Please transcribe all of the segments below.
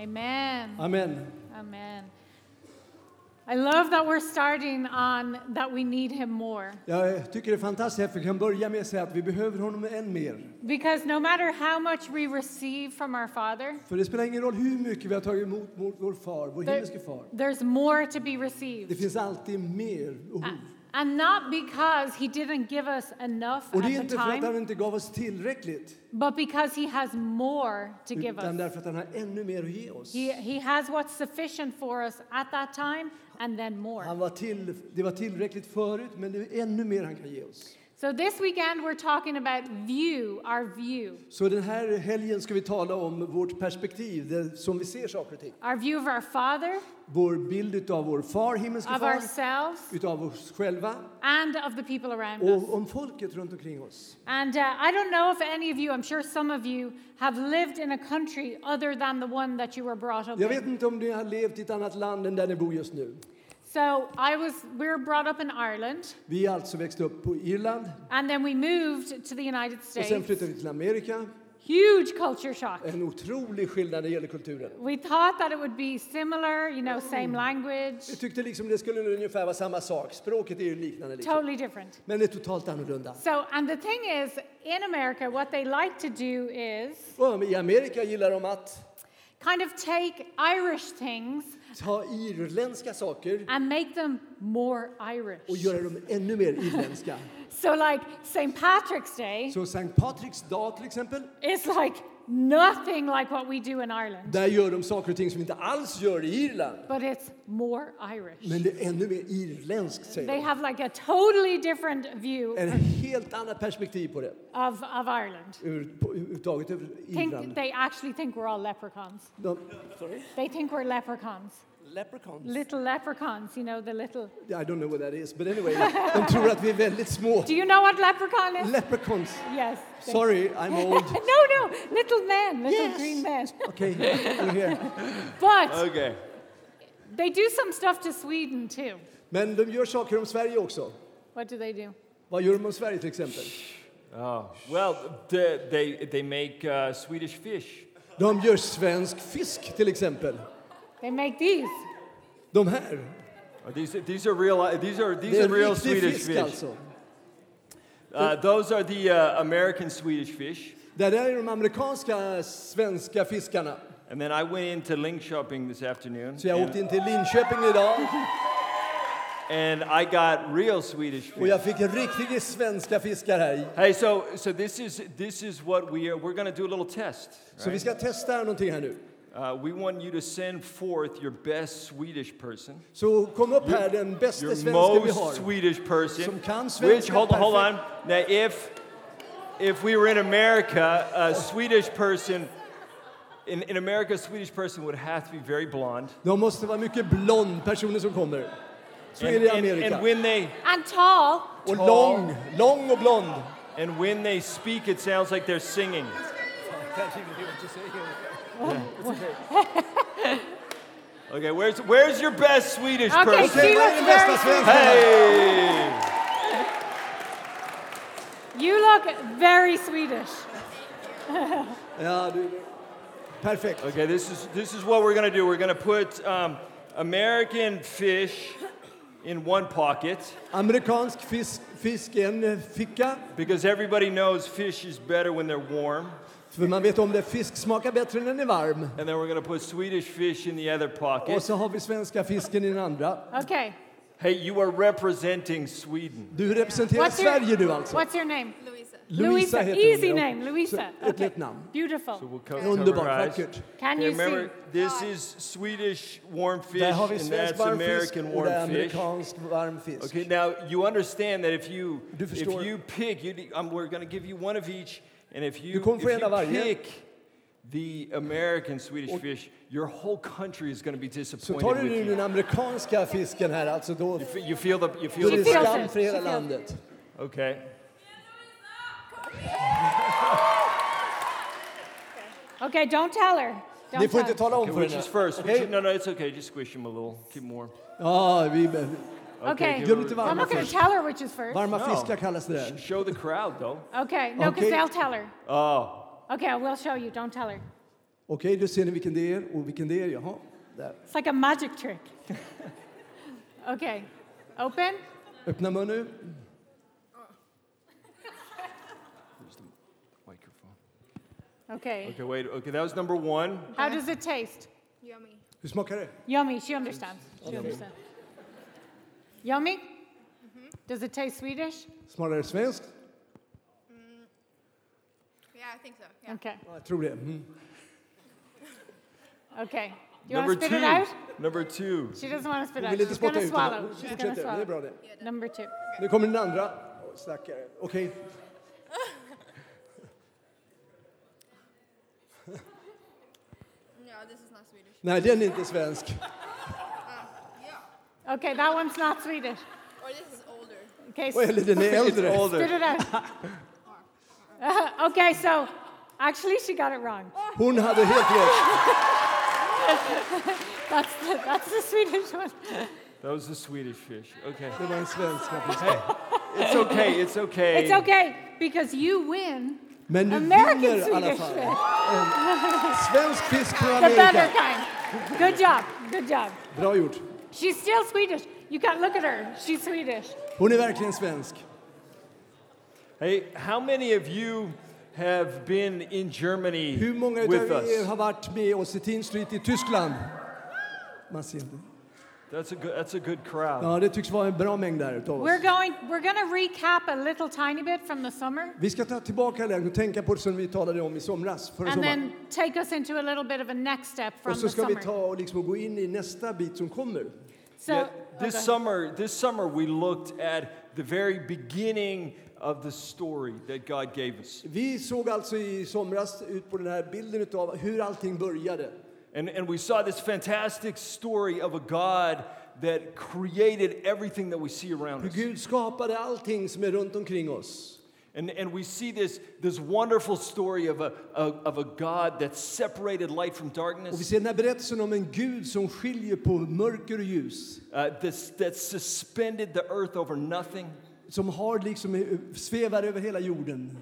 Amen. Amen. Amen. I love that we're starting on that we need him more. Jag tycker det är fantastiskt att vi kan börja med att säga att vi behöver honom än mer. Because no matter how much we receive from our Father, För det spelar ingen roll hur mycket vi har tagit emot vår far, vår himmelske far. there's more to be Det received. finns alltid mer behov. And not because he didn't give us enough Och det är at the inte för att han time, inte gav oss tillräckligt, but because he has more to give utan us. därför att han har ännu mer att ge oss. He has what's sufficient for us at that time and then more. Det var tillräckligt förut, men det är ännu mer han kan ge oss. So this weekend we're talking about our view. Så den här helgen ska vi tala om vårt perspektiv, det som vi ser saker och ting. Our view of our Father, Vår bild av vår far, himmelske of far, ourselves, utav oss själva and of the people around us. och om folket runt omkring oss. And I don't know if any of you, I'm sure some of you, have lived in a country other than the one that you were brought up Jag vet in. inte om ni har levt i ett annat land än där ni bor just nu. So we were brought up in Ireland, Vi är alltså växt upp på Irland and then we moved to the United och sen States. flyttade vi till Amerika. Huge culture shock. En otrolig skillnad när det gäller kulturen. We thought that it would be similar, same language, Vi tyckte liksom det skulle ungefär vara samma sak. Språket är ju liknande liksom. totally different. Men det är totalt annorlunda. So, and the thing is, in America, what they like to do is Och i Amerika gillar de att kind of take Irish things ta irländska saker and make them more Irish. och göra dem ännu mer irländska. So like St. Patrick's Day Så Sankt Patricks dag till exempel, is like nothing like what we do in Ireland, där gör de saker och ting som vi inte alls gör i Irland. but it's more Irish. Men det är ännu mer irländskt, säger They de. have like a totally different view En helt annat perspektiv på det. of Ireland. Överhuvudtaget över Irland. They actually think we're all leprechauns. Sorry? They think we're leprechauns. Leprechauns? Little leprechauns, the little... I don't know what that is, but anyway, de tror att vi är väldigt små. Do you know what leprechaun is? Leprechauns. Yes. Sorry, I'm old. No, little men, little Yes. green men. Okay, we're here. But Okay. they do some stuff to Sweden too. Men de gör saker om Sverige också. What do they do? Vad gör de om Sverige till exempel? Oh, well, they make Swedish fish. De gör svensk fisk till exempel. They make these. De här. These are real. These are Det är real riktig Swedish fisk fish. alltså. Those are the American Swedish fish. Det där är de amerikanska svenska fiskarna. And then I went into Linköping this afternoon. Så jag åkte in till Linköping idag And I got real Swedish och fish. jag fick riktiga svenska fiskar här. Hey, so this is what we're going to do a little test. Så vi ska testa någonting här nu. We want you to send forth your best Swedish person. Så kom upp här den bästa Your svenska vi most har. Swedish person. Som kan Which svenska hold on. perfekt. Now if we were in America, a Swedish person in America, a Swedish person would have to be very blonde. De måste vara mycket blond personer som kommer. Så är det i Amerika. And when they And tall. Och lång och blond. and when they speak, it sounds like they're singing. Okay, where's your best Swedish Okay, person? she Vad är looks den bästa very Swedish. svenskan? Hey! You look very Swedish. Ja, du. Perfekt. Okay, this is what we're gonna do. We're gonna put American fish in one pocket Amerikansk fisk i en ficka. because everybody knows fish is better when they're warm. För man vet om det, fisk smakar bättre när den är varm. And then we're gonna put Swedish fish in the other Och pocket. så har vi svenska fisken i den andra. Okay. Hey, you are representing Sweden. Du representerar Sverige du alltså. What's your name? Louisa heter Easy hon, ja. name, Louisa. Så, ett lätt namn. Beautiful. So we'll cover Underbart, our eyes. vackert. Can Okay, you remember, see? this is Swedish warm fish, Där har vi and svensk that's varm fisk American och det är warm fish. amerikansk varm fisk. Okay, now you understand that if you förstår. pick, we're going to give you one of each, and if Du you kommer få en av varje. pick the American Swedish fish, your whole country is going to be Så disappointed tar du with nu you. den amerikanska fisken här, alltså då You feel då the är det feels skam it. för hela She feels landet. okay. Okay, don't tell her. Ni Don't får inte tell her. tala om Okay, för which henne. is first? Okej? No, it's okay. Just squish him a little. Keep more. Ja, vi Okay. give gör her- lite I'm varma not going to fisk. tell her which is first. Varma No. fiskar kallas det där. Show the crowd, though. Okay, no, because Okay. they'll tell her. Oh, Okay, I will show you. Don't tell her. Okej, då ser ni vilken det är och vilken det är. Jaha, där. It's like a magic trick. Okay, open. Öppna mun nu. Here's the microphone. Okay. Okay, wait. Okay, that was number 1. How does it taste? Yummy. Hur smakar det? Yummy. She understands. She understands. Yummy? Does it taste Swedish? Smakar det svenskt? Yeah, I think so. Yeah. Okay. Ja, jag tror det. Mm. Okay. Do you want Number to spit 2. it out? Number 2. She doesn't want to spit Hon out. vill inte She's spotta going to ut swallow. det. She's going to Fortsätt, det är swallow. bra det. Number 2. Nu kommer den andra. Stackare. Okej. No, this is not Swedish. Nej, den är inte svensk. Yeah. Okay, that one's not Swedish. Or this is older. Okay, Eller den är äldre. It's spit older. it out. Okay, so actually she got it wrong. Hon hade helt rätt. That's the Swedish one. That was the Swedish fish. Okay. Det var en svensk. It's okay. It's okay. It's okay because you win Men du American vinner i alla Swedish fall. fish. Svensk fisk från The better Amerika. kind. Good job. Good job. Bra gjort. She's still Swedish. You can't look at her. She's Swedish. Hon är verkligen svensk. Hey, how many of you have been in Germany Hur många with av er us? har varit med oss i Teen Street i Tyskland? Man ser inte. That's a good crowd. Ja, det tycks vara en bra mängd där utav oss. We're going to recap a little tiny bit from the summer Vi ska ta tillbaka det och tänka på det som vi talade om i somras, förra and sommaren. then take us into a little bit of a next step from Och så the ska vi summer. ta och liksom gå in i nästa bit som kommer. So, Yeah, okay. this summer we looked at the very beginning of the story that God gave us. Vi såg alltså i somras ut på den här bilden utav hur allting började. And we saw this fantastic story of a God that created everything that we see around Hur us. Gud skapade allting som är runt omkring oss. And we see this wonderful story of a God that separated light from Och vi darkness, ser den här berättelsen om en Gud som skiljer på mörker och ljus. that suspended the earth over nothing, Som har liksom svävar över hela jorden.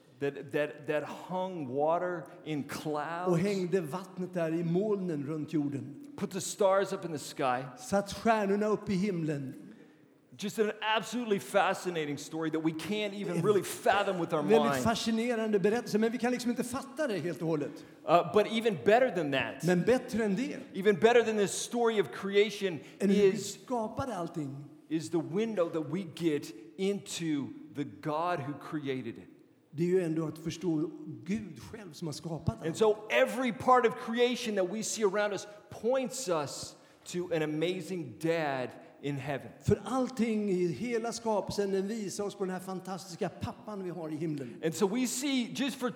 that hung water in Och clouds, hängde vattnet där i molnen runt jorden. put the stars up in the sky. Satt stjärnorna upp i himlen. Just an absolutely fascinating story that we can't even really fathom with our Väldigt mind. fascinerande berättelse, men vi kan liksom inte fatta det helt och hållet. But even better than that, Men bättre än det, even better than this story of creation än hur Gud is skapade allting, the window that we get into the God who created it. det är ju ändå att förstå Gud själv som har skapat And allt. so every part of creation that we see around us points us to an amazing dad in heaven. För allting i hela skapelsen den visar oss på den här fantastiska pappan vi har i himlen. And so we see, just for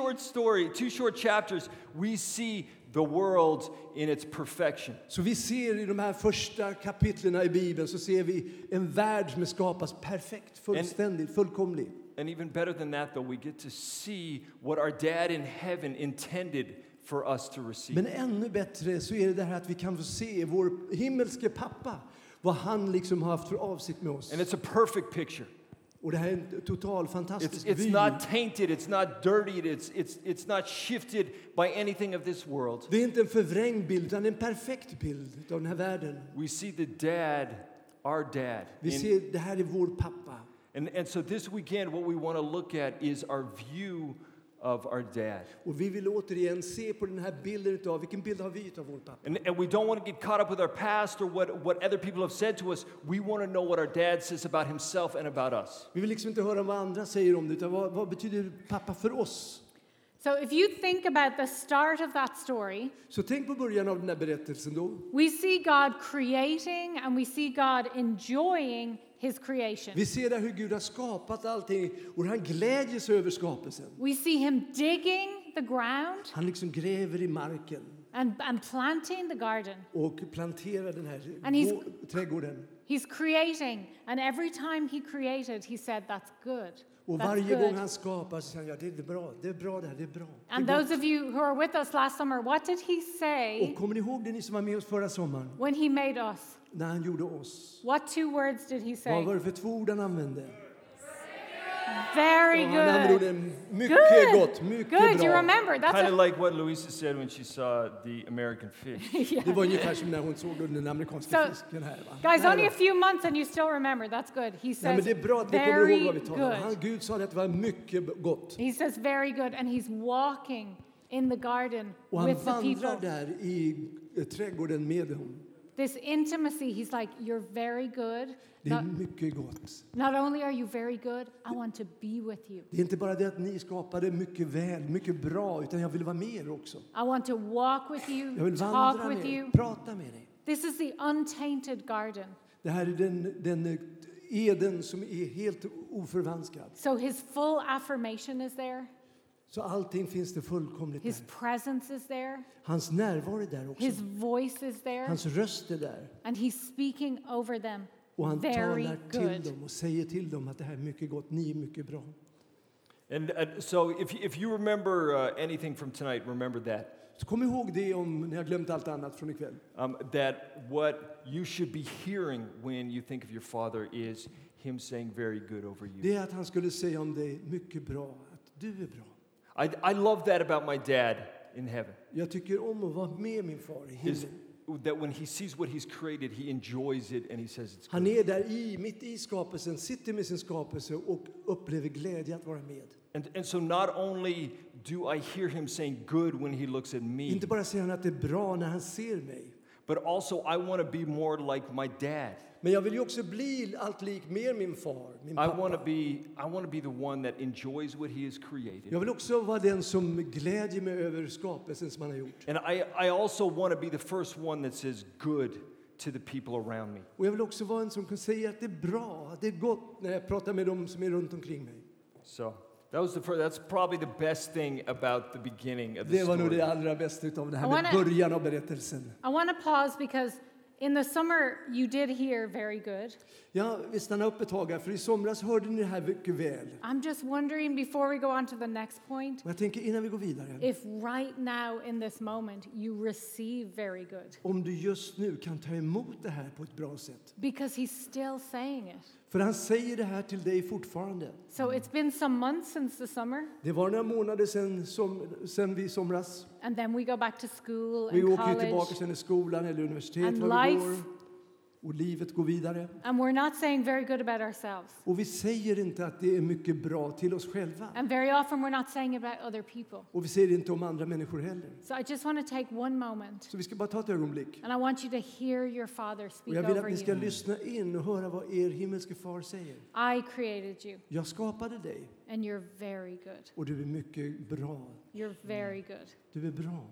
two short chapters, we see the world in its perfection. Så vi ser i de här första kapitlerna i Bibeln så ser vi en värld som är skapas perfekt, fullständigt, fullkomlig. And even better than that, though, we get to see what our dad in heaven intended for us to receive. Men ännu bättre så är det här att vi kan få se vår himmelske pappa, vad han liksom har haft för avsikt med oss. And it's a perfect picture. Och det här är en total fantastisk It's vy. not tainted, it's not dirtied, it's not shifted by anything of this world. Det är inte en förvrängd bild, utan en perfekt bild av den här världen. We see the dad, our dad. Vi ser, det här är vår pappa. And so this weekend, what we want to look at is our view of our dad. Och vi vill återigen se på den här bilden utav, vilken bild har vi utav vår pappa? And we don't want to get caught up with our past or what other people have said to us. We want to know what our dad says about himself and about us. Vi vill liksom inte höra vad andra säger om det, utan vad betyder pappa för oss? So if you think about the start of that story, Så tänk på början av den här berättelsen då. we see God creating and we see God enjoying his creation. Vi ser där hur Gud har skapat allting och han glädjer sig över skapelsen. We see him digging the ground Han liksom gräver i marken and planting the garden. och planterar den här And trädgården. He's creating, and every time he created, he said, "That's good. Och That's varje gång good." han skapar så säger han, ja, det är bra, det är bra det här, det är bra. Det är And gott. those of you who are with us last summer, what did he say Och kommer ni ihåg det, ni som var med oss förra sommaren? when he made us? När han gjorde oss. What two words did he Vad say? var det för två ord han använde? Very Han använder good. orden mycket Good. gott, mycket Good, you bra. remember. That's Kind of a, like what Louisa said when she saw the American fish. Det var ungefär som när hon såg den amerikanska So, fisken här. Va? guys, Nej, only va? a few months and you still remember. That's good. He Nej, says men det är bra att vi kommer ihåg very vad vi talar om. good. Gud sa att det var mycket gott. He says very good, and he's walking in the garden Och han with the vandrar people. där i trädgården med dem. This intimacy, he's like, you're very good. Det är mycket gott. Not only are you very good, I want to be with you. Det är inte bara det att ni skapade mycket väl, mycket bra, utan jag vill vara med er också. I want to walk with you, Jag vill talk vandra with med er, you. prata med dig. This is the untainted garden. Det här är den Eden som är helt oförvanskad. So his full affirmation is there. Så allting finns det fullkomligt His där. presence is there. Hans närvaro är där också. His voice is there. Hans röst är där. And he's speaking over them. Och han Very talar till good. dem och säger till dem att det här är mycket gott, ni är mycket bra. And so if you remember anything from tonight, remember that. Så kom ihåg det om ni har glömt allt annat från ikväll. That what you should be hearing when you think of your father is him saying very good over you. Det är att han skulle säga om dig mycket bra, att du är bra. I love that about my dad in heaven. Jag tycker om att vara med min far i Is himlen. that when he sees what he's created, he enjoys it and he says it's Han good. är där mitt i skapelsen, sitter med sin skapelse och upplever glädje att vara med. And so not only do I hear him saying good when he looks at me, Inte bara säger han att det är bra när han ser mig. but also I want to be more like my dad. Men jag vill ju också bli allt lik mer min far, min I pappa. want to be the one that enjoys what he has created. Jag vill också vara den som glädjer mig över skapelsen som han har gjort. And I also want to be the first one that says good to the people around me. Och jag vill också vara en som kan säga att det är bra, att det är gott när jag pratar med dem som är runt omkring mig. So that's probably the best thing about the beginning of the Det var nog story. det allra bästa utav det här I med wanna- början av berättelsen. I want to pause because in the summer you did hear very good. Ja, vi stannar upp ett tag här, för i somras hörde ni det här mycket väl. I'm just wondering before we go on to the next point Och jag tänker innan vi går vidare, if right now in this moment you receive very good om du just nu kan ta emot det här på ett bra sätt. because he's still saying it. För han säger det här till dig fortfarande. So it's been some months since the summer Det var några månader sen vi somras. and then we go back to school Vi and åker ju tillbaka college sen i skolan eller universitet and var vi life. går. Och livet går vidare. And we're not saying very good about ourselves. Och vi säger inte att det är mycket bra till oss själva. And very often we're not saying it about other people. Och vi säger det inte om andra människor heller. So I just want to take one moment Så vi ska bara ta ett ögonblick. and I want you to hear your Father Och speak jag vill att over ni ska you. lyssna in och höra vad er himmelske far säger. I created you Jag skapade dig and you're very good. och du är mycket bra. You're very good. Du är bra.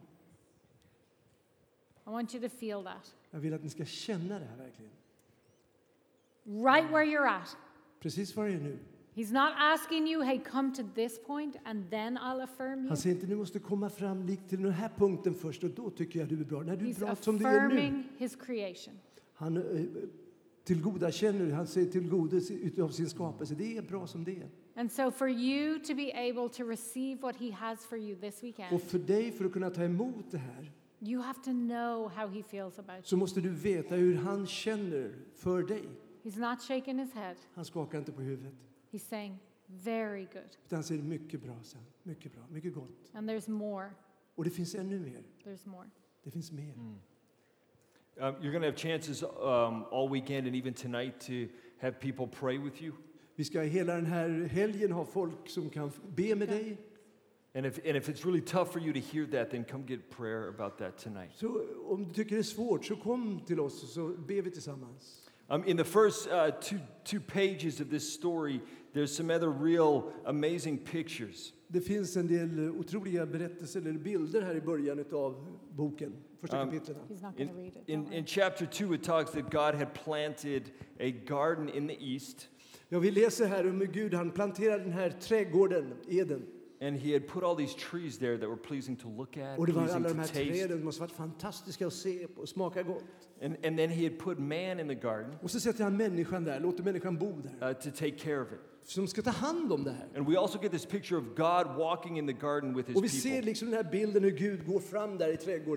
I want you to feel that. Jag vill att ni ska känna det här verkligen. Right where you're at. Precis var jag är nu. He's not asking you, hey, come to this point and then I'll affirm you. Han säger inte, ni måste komma fram likt till den här punkten först och då tycker jag du är bra. Nej, du är He's bra som du är nu. affirming his creation. Han tillgodakänner, han säger tillgodes utav sin skapelse. Det är bra som det är. And so for you to be able to receive what he has for you this weekend, Och för dig, för att kunna ta emot det här, you have to know how he feels about så you. måste du veta hur han känner för dig. He's not shaking his head. Han skakar inte på huvudet. He's saying, very good. Utan han säger mycket bra sen. Mycket bra, mycket gott. And there's more. Och det finns ännu mer. There's more. Det finns mer. You're going to have chances all weekend and even tonight to have people pray with you. Vi ska hela den här helgen ha folk som kan be med dig. And if it's really tough for you to hear that, then come get prayer about that tonight. Så om du tycker det är svårt, så kom till oss och så ber vi tillsammans. In the first two pages of this story, there's some other real amazing pictures. Det finns en del otroliga berättelser eller bilder här i början av boken, första kapitlen. He's not going to read it. Don't In worry. chapter 2, it talks that God had planted a garden in the east, Ja, vi läser här om hur Gud han planterade den här trädgården, Eden. and he had put all these trees there that were pleasing to look at, Och det var pleasing alla to de här taste. träden som måste varit fantastiska att se på och smaka gott. And then he had put man in the garden Och så sätter han människan där, låter människan bo där. to take care of it. Som ska ta hand om det här. And we also get this picture of God walking in the garden with his Och vi ser people. liksom den här bilden hur Gud går fram där i trädgården.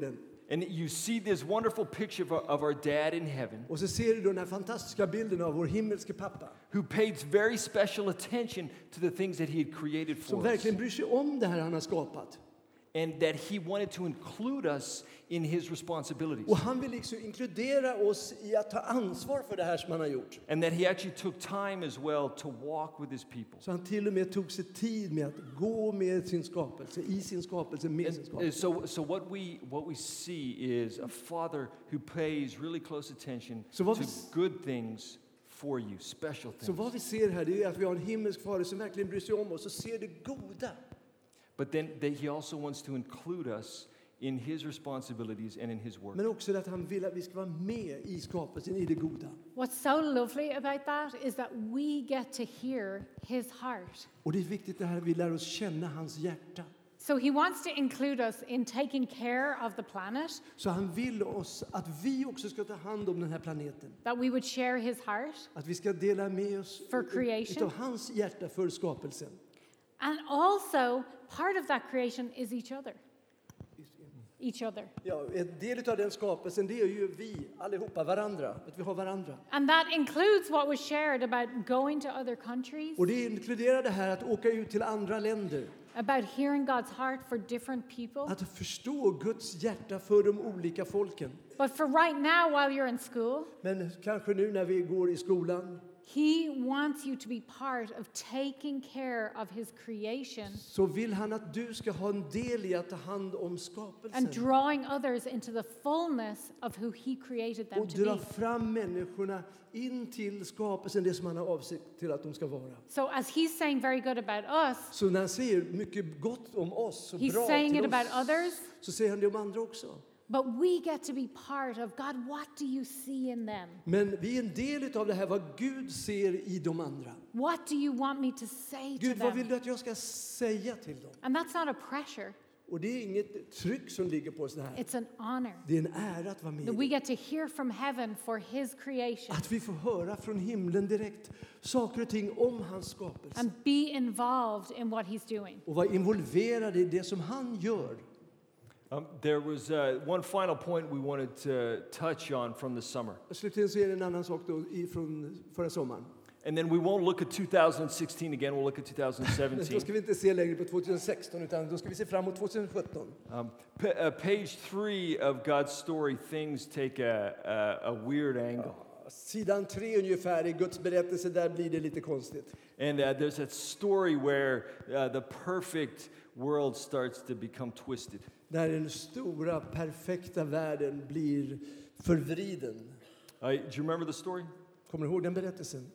And you see this wonderful picture of our dad in heaven Och så ser du då den här fantastiska bilden av vår himmelske pappa. who paid very special attention to the things that he had created Som for us. verkligen bryr sig om det här han har skapat. And that he wanted to include us in his responsibilities. Och han vill liksom inkludera oss i att ta ansvar för det här som han har gjort. And that he actually took time as well to walk with his people. Så han till och med tog sig tid med att gå med sin skapelse, i sin skapelse, med sin And skapelse. so what we see is a father who pays really close attention Så vad to vi- good things for you, special Så things. vad vi ser här det är att vi har en himmelsk fader som verkligen bryr sig om oss och ser det goda. But then that he also wants to include us in his responsibilities and in his work. Men också att han vill att vi ska vara med i skapelsen, i det goda. What's so lovely about that is that we get to hear his heart. Och det är viktigt det här att vi lär oss känna hans hjärta. So he wants to include us in taking care of the planet, Så han vill oss att vi också ska ta hand om den här planeten. that we would share his heart, Att vi ska dela med oss For creation. utav hans hjärta för skapelsen. and also part of that creation is each other. Each other. Ja, en del av den skapelsen det är ju vi allihopa, varandra. Att vi har varandra. And that includes what was shared about going to other countries, Och det inkluderar det här att åka ut till andra länder. about hearing God's heart for different people. Att förstå Guds hjärta för de olika folken. But for right now, while you're in school, Men kanske nu när vi går i skolan he wants you to be part of taking care of his creation så vill han att du ska ha en del i att ta hand om skapelsen. and drawing others into the fullness of who he created them Och to dra be. fram människorna in till skapelsen, det som han har avsikt till att de ska vara. So as he's saying very good about us, Så när han säger mycket gott om oss och he's bra saying it till about oss, others, så säger han det om andra också. but we get to be part of God. What do you see in them? Men vi är en del av det här, vad Gud ser i de andra. What do you want me to say to Gud, vad vill them? du att jag ska säga till dem? And that's not a pressure, Och det är inget tryck som ligger på oss det här. it's an honor Det är en ära att vara med. that we get to hear from heaven for his creation Att vi får höra från himlen direkt saker och ting om hans skapelse. and be involved in what he's doing. Och vara involverade i det som han gör. There was one final point we wanted to touch on from the summer. Slutligen så är det en annan sak då från förra sommaren. And then we won't look at 2016 again, we'll look at Men då 2017. ska vi inte se längre på 2016 utan då ska vi se fram emot 2017. Page 3 of God's story, things take a weird angle. Sidan 3 ungefär i Guds berättelse, där blir det lite konstigt. And there's a story where the perfect world starts to become twisted. Där den stora, perfekta världen blir förvriden. Do you remember the story? Kommer ni ihåg den berättelsen?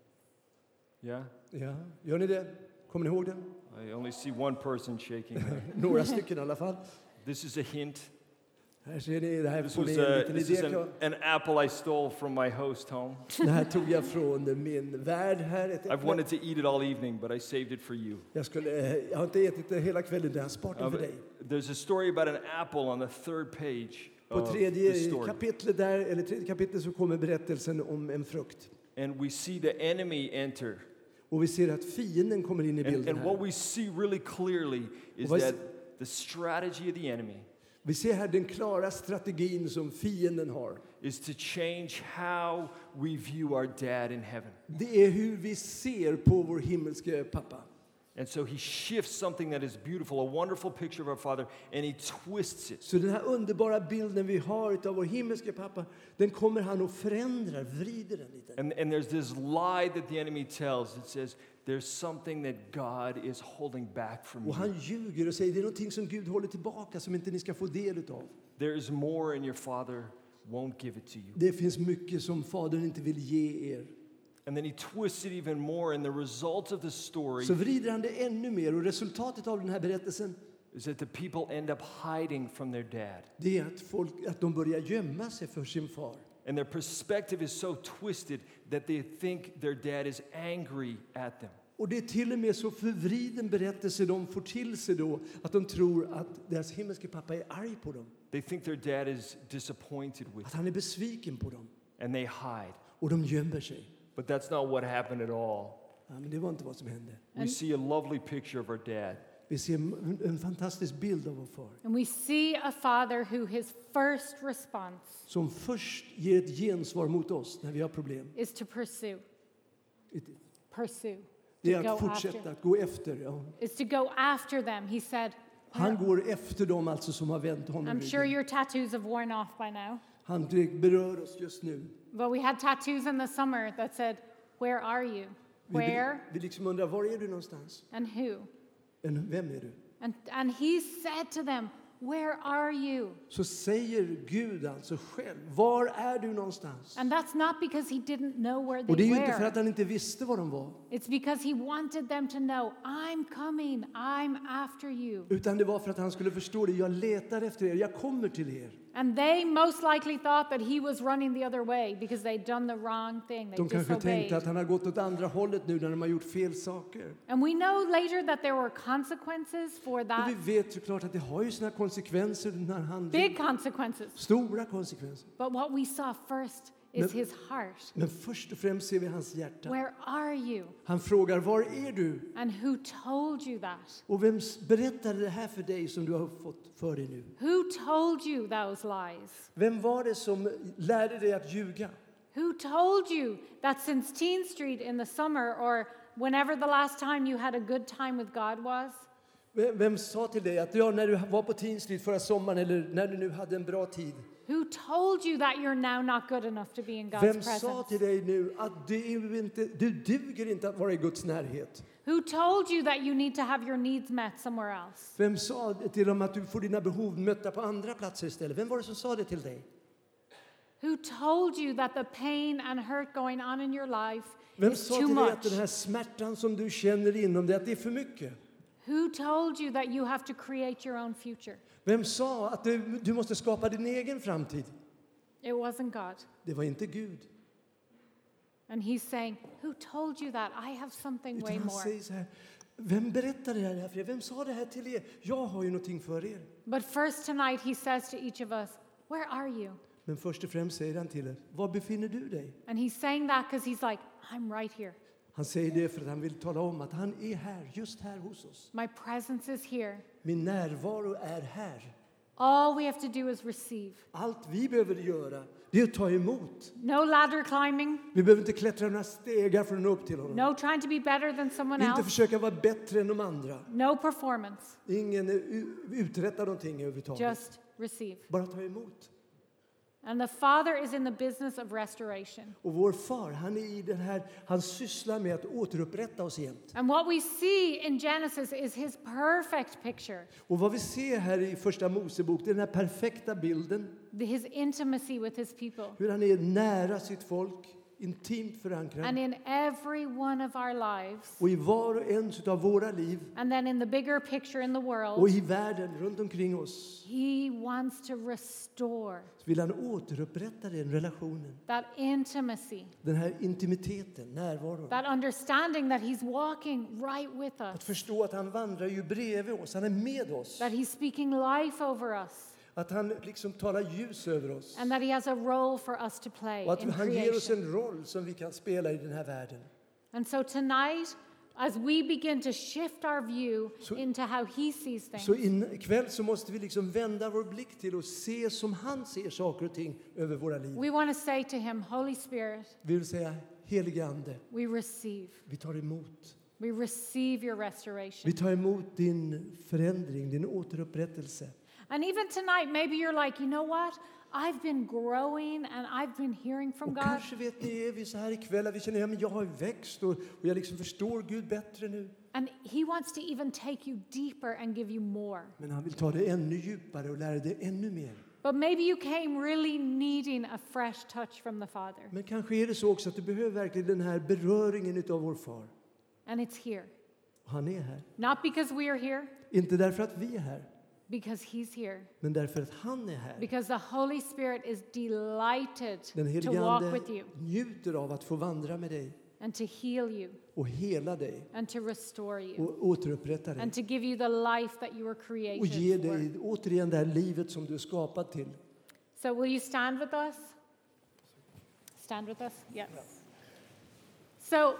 Yeah? Ja, gör ni det? Kommer ni ihåg den? I only see one person shaking there. Några stycken i alla fall. This is a hint. Här ser ni, det här This får was ni en liten this is idé. an apple I stole from my host home. Det här tog jag från min värld här. Ett I've äpple. wanted to eat it all evening, but I saved it for you. Jag har inte ätit det hela kvällen, det har jag sparat den för dig. There's a story about an apple on the third page På of the tredje story. kapitlet där, eller tredje kapitlet så kommer berättelsen om en frukt. And we see the enemy enter. Och vi ser att fienden kommer in i bilden And what här. we see really clearly is vad- that the strategy of the enemy Vi ser här den klara strategin som fienden har. is to change how we view our dad in heaven. Det är hur vi ser på vår himmelske pappa. And so he shifts something that is beautiful, a wonderful picture of our father, and he twists it. Så den här underbara bilden vi har av vår himmelske pappa, den kommer han att förändra, vrider den lite. And there's this lie that the enemy tells that says there's something that God is holding back from Och you. han ljuger och säger det är någonting som Gud håller tillbaka som inte ni ska få del utav. There is more and your father won't give it to you. Det finns mycket som Fadern inte vill ge er. And then he twists it even more, and the result of the story Så vrider han det ännu mer och resultatet av den här berättelsen is that the people end up hiding from their dad. det är att de börjar gömma sig för sin far. And their perspective is so twisted that they think their dad is angry at them. Och det är till och med så förvriden berättelse de får till sig då att de tror att deras himmelske pappa är arg på dem. They think their dad is disappointed with Att them, han är besviken på dem. and they hide. Och de gömmer sig. But that's not what happened at all. Ja, men det var inte vad som hände. We see a lovely picture of our dad Vi ser en fantastisk bild av vår far. And we see a father who his first response Som först ger ett gensvar mot oss när vi har problem. is to pursue. Pursue. Det To är go att fortsätta, after. att gå efter. Ja. Is to go after them. He said, Han går efter dem alltså som har vänt honom I'm sure ryggen. your tattoos have worn off by now. Han berör oss just nu. But we had tattoos in the summer that said, where are you? Where Vi liksom undrar, var är du någonstans? and who? Vem är du? And he said to them, where are you? Så säger Gud alltså själv, var är du någonstans? And that's not because he didn't know where Och det är they ju inte för were. att han inte visste var de var. It's because he wanted them to know, I'm coming, I'm after you. Utan det var för att han skulle förstå det. Jag letar efter er, jag kommer till er. And they most likely thought that he was running the other way because they'd done the wrong thing. They De kanske tänkte disobeyed. att han har gått åt andra hållet nu när de har gjort fel saker. And we know later that there were consequences for Och that. vi vet såklart att det har ju sina konsekvenser den här handlingen. Big consequences. Stora konsekvenser. But what we saw first is his heart. Men först och främst ser vi hans hjärta. Where are you? Han frågar, var är du? And who told you that? Och vem berättade det här för dig som du har fått för dig nu? Who told you those lies? Vem var det som lärde dig att ljuga? Who told you that since Teen Street in the summer or whenever the last time you had a good time with God was, Vem sa till dig att när du var på Teen Street förra sommaren eller när du nu hade en bra tid? who told you that you're now not good enough to be in God's Vem sa presence? till dig nu att du duger inte att vara i Guds närhet? Who told you that you need to have your needs met somewhere else? Vem sa till dem att du får dina behov mötta på andra platser istället? Vem var det som sa det till dig? Who told you that the pain and hurt going on in your life Vem is sa too till dig att much? den här smärtan som du känner inom dig, att det är för mycket? Who told you that you have to create your own future? Vem sa att du måste skapa din egen framtid? It wasn't God. Det var inte Gud. And he's saying, who told you that? I have something Utan way han more. säger så här, vem berättade det här för er? Vem sa det här till er? Jag har ju någonting för er. But first tonight he says to each of us, where are you? Men först och främst säger han till er, var befinner du dig? And he's saying that because he's like, I'm right here. Han säger det för att han vill tala om att han är här, just här hos oss. My presence is here. Min närvaro är här. All we have to do is receive. Allt vi behöver göra, det är att ta emot. No ladder climbing, Vi behöver inte klättra några stegar för att nå upp till honom. no trying to be better than someone Inte else, försöka vara bättre än de andra. no performance, Ingen uträttar någonting överhuvudtaget. just receive. Bara ta emot. And the Father is in the business of restoration. Och vår far, han är i den här, han sysslar med att återupprätta oss jämt. And what we see in Genesis is his perfect picture, Och vad vi ser här i första Mosebok, det är den här perfekta bilden. his intimacy with his people. Hur han är nära sitt folk, intimt And förankrad. in every one of our lives, Och i var och en av våra liv and then in the bigger picture in the och world, i världen runt omkring oss he wants to restore så vill han återupprätta den relationen. that intimacy, Den här intimiteten, närvaron. that understanding that he's walking right with Att us, förstå att han vandrar ju bredvid oss, han är med oss. that he's speaking life over us, Att han liksom talar ljus över oss. and that he has a role for us to play Och att in han ger oss creation. en roll som vi kan spela i den här världen. And so tonight, as we begin to shift our view Så- into how he sees things, Så ikväll så måste vi liksom vända vår blick till och se som han ser saker och ting över våra liv. we want to say to him, Holy Spirit, Vi vill säga, helige Ande, we receive. vi tar emot. We receive your restoration. Vi tar emot din förändring, din återupprättelse. And even tonight, maybe you're like, you know what? I've been growing and I've been hearing from Och God. kanske vet ni, är vi så här ikväll att vi känner, ja men jag har växt och jag liksom förstår Gud bättre nu. And he wants to even take you deeper and give you more. Men han vill ta det ännu djupare och lära dig ännu mer. But maybe you came really needing a fresh touch from the Father. Men kanske är det så också att du behöver verkligen den här beröringen utav vår far. And it's here. Och han är här. Not because we are here, Inte därför att vi är här, because he's here. men därför att han är här. Because the Holy Spirit is delighted Den to helige walk Ande with you njuter av att få vandra med dig and to heal you och hela dig and to restore you och återupprätta dig. and to give you the life that you were Och ge created for. dig återigen det här livet som du är skapad till. So will you stand with us? Stand with us? Yes. So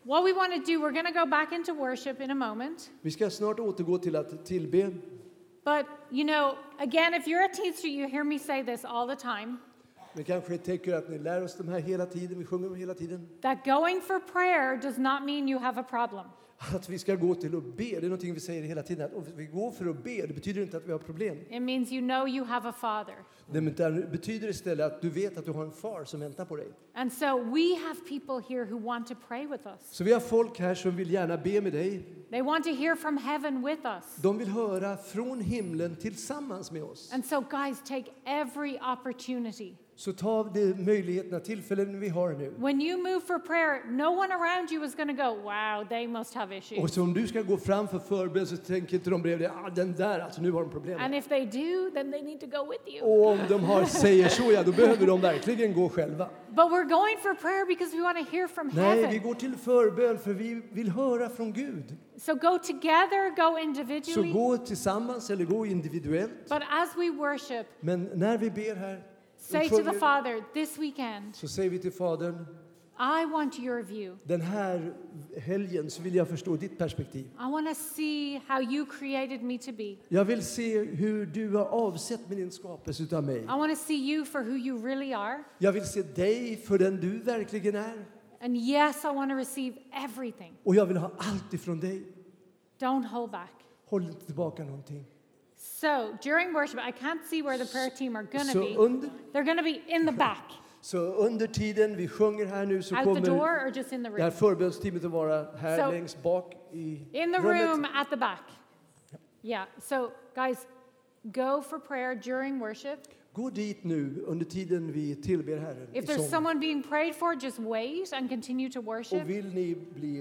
What we want to do, we're going to go back into worship in a moment. Vi ska snart återgå till att tillbe. But, you know, again, if you're at Teen Street, you hear me say this all the time. Vi kanske tänker att ni lär oss de här hela tiden, vi sjunger dem hela tiden. That going for prayer does not mean you have a problem. Att vi ska gå till att be, det är någonting vi säger hela tiden. Att om vi går för att be, det betyder inte att vi har problem. It means you know you have a father. Det betyder istället att du vet att du har en far som väntar på dig. And so we have people here who want to pray with us. Så vi har folk här som vill gärna be med dig. They want to hear from heaven with us. De vill höra från himlen tillsammans med oss. And so guys, take every opportunity. Så ta de möjligheterna, tillfällen vi har nu. When you move for prayer, no one around you is going to go, wow, they must have Och issues. så om du ska gå fram för förbön så tänker inte de bredvid dig, den där, alltså nu har de problem. And if they do, then they need to go with you. Och om de säger så, ja, då behöver de verkligen gå själva. But we're going for prayer because we want to hear from Nej, vi heaven. går till förbön för vi vill höra från Gud. So go together, go Så individually. gå tillsammans eller gå individuellt. But as we worship, Men när vi ber här say och to the sjunger, Father, this weekend, så säger vi till Fadern, I want your view. den här helgen så vill jag förstå ditt perspektiv. I want to see how you created me to be. Jag vill se hur du har avsett med din skapelse utav mig. I want to see you for who you really are. Jag vill se dig för den du verkligen är. And yes, I want to receive everything. Och jag vill ha allt ifrån dig. Don't hold back. Håll inte tillbaka någonting. So during worship, I can't see where the prayer team are going to Så be. under, They're going to be in the back, så under tiden vi sjunger här nu så out the door kommer or just in the det här room. förbönsteamet att vara här So, längst bak i In the rummet. room at the back. Yeah. So guys, go for prayer during worship. Gå dit nu under tiden vi tillber Herren i If there's sång. someone being prayed for, just wait and continue to worship. Och vill ni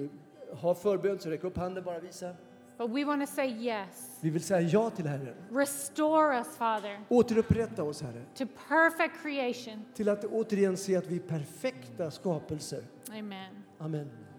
ha förbön så räck upp handen, bara visa. But we want to say yes. Vi vill säga ja till Herren. Restore us, Father, Återupprätta oss, Herre. to perfect creation. Till att återigen se att vi är perfekta skapelser. Amen. Amen.